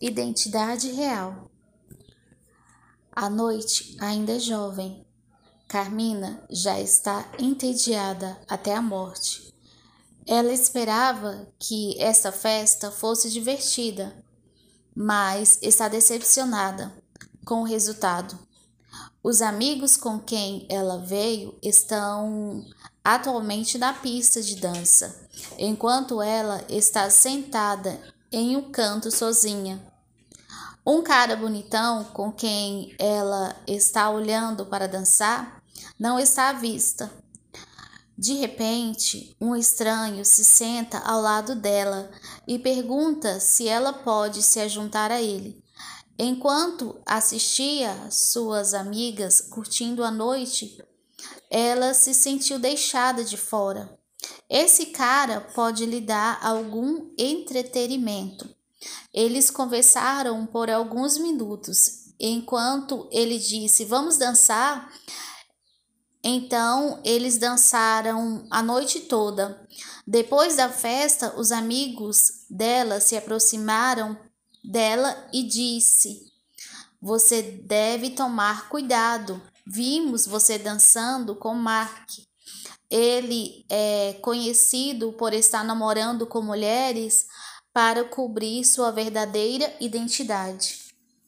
Identidade real. A noite ainda é jovem. Carmina já está entediada até a morte. Ela esperava que essa festa fosse divertida, mas está decepcionada com o resultado. Os amigos com quem ela veio estão atualmente na pista de dança, enquanto ela está sentada em um canto sozinha. Um cara bonitão com quem ela está olhando para dançar não está à vista. De repente, um estranho se senta ao lado dela e pergunta se ela pode se juntar a ele. Enquanto assistia suas amigas curtindo a noite, ela se sentiu deixada de fora. Esse cara pode lhe dar algum entretenimento. Eles conversaram por alguns minutos. Enquanto ele disse, vamos dançar? Então, eles dançaram a noite toda. Depois da festa, os amigos dela se aproximaram dela e disse, você deve tomar cuidado. Vimos você dançando com Mark. Ele é conhecido por estar namorando com mulheres para cobrir sua verdadeira identidade.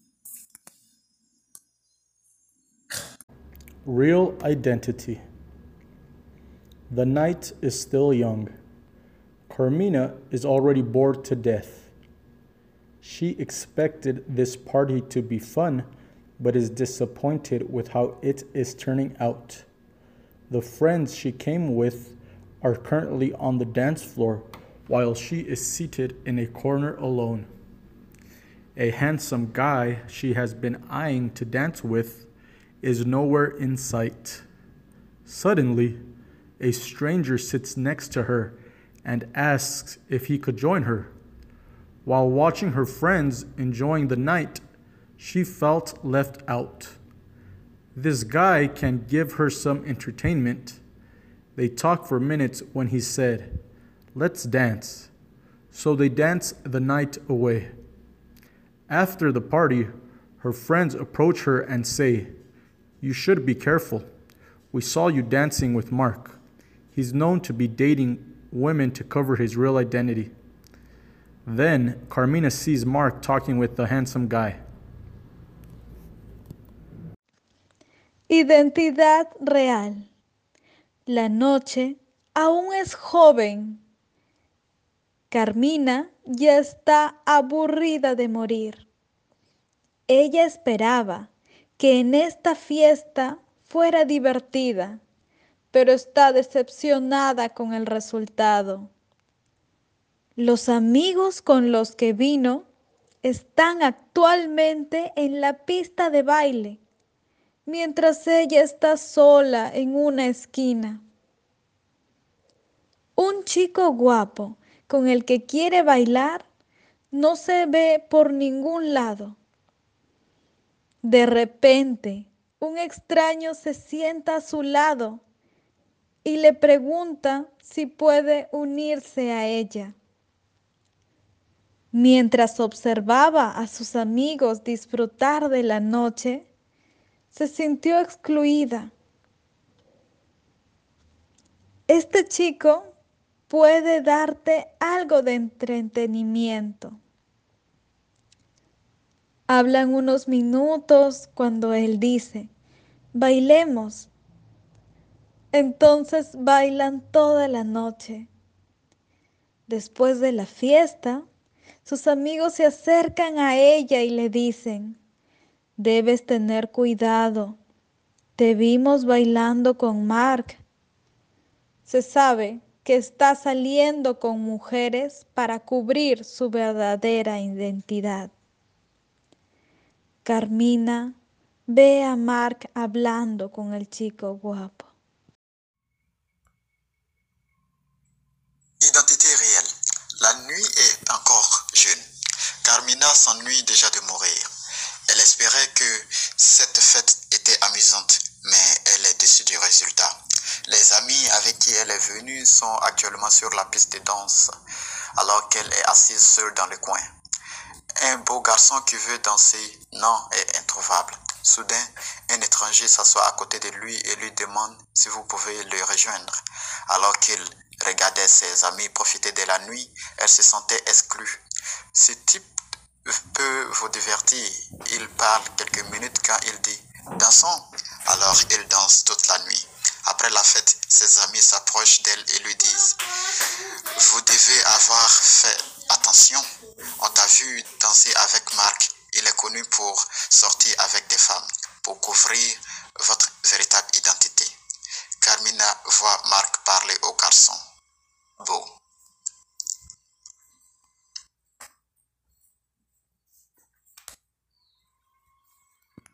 Real identity. The night is still young. Carmina is already bored to death. She expected this party to be fun, but is disappointed with how it is turning out. The friends she came with are currently on the dance floor while she is seated in a corner alone. A handsome guy she has been eyeing to dance with is nowhere in sight. Suddenly, a stranger sits next to her and asks if he could join her. While watching her friends enjoying the night, she felt left out. This guy can give her some entertainment. They talked for minutes when he said, "Let's dance." So they dance the night away. After the party, her friends approach her and say, "You should be careful. We saw you dancing with Mark. He's known to be dating women to cover his real identity." Then Carmina sees Mark talking with the handsome guy. Identidad real. La noche aún es joven. Carmina ya está aburrida de morir. Ella esperaba que en esta fiesta fuera divertida, pero está decepcionada con el resultado. Los amigos con los que vino están actualmente en la pista de baile, mientras ella está sola en una esquina. Un chico guapo con el que quiere bailar no se ve por ningún lado. De repente, un extraño se sienta a su lado y le pregunta si puede unirse a ella. Mientras observaba a sus amigos disfrutar de la noche, se sintió excluida. Este chico puede darte algo de entretenimiento. Hablan unos minutos cuando él dice, bailemos. Entonces bailan toda la noche. Después de la fiesta, sus amigos se acercan a ella y le dicen, debes tener cuidado. Te vimos bailando con Mark. Se sabe que está saliendo con mujeres para cubrir su verdadera identidad. Carmina ve a Mark hablando con el chico guapo. Identité réelle. La nuit est encore jeune. Carmina s'ennuie déjà de mourir. Elle espérait que cette fête était amusante, mais elle est déçue du résultat. Les amis avec qui elle est venue sont actuellement sur la piste de danse, alors qu'elle est assise seule dans le coin. un beau garçon qui veut danser. Non, est introuvable. Soudain, un étranger s'assoit à côté de lui et lui demande si vous pouvez le rejoindre. Alors qu'il regardait ses amis profiter de la nuit, elle se sentait exclue. Ce type peut vous divertir. Il parle quelques minutes quand il dit « dansons ». Alors il danse toute la nuit. Après la fête, ses amis s'approchent d'elle et lui disent « vous devez avoir fait attention. On t'a vu danser avec Marc. Il est connu pour sortir avec des femmes. Pour couvrir votre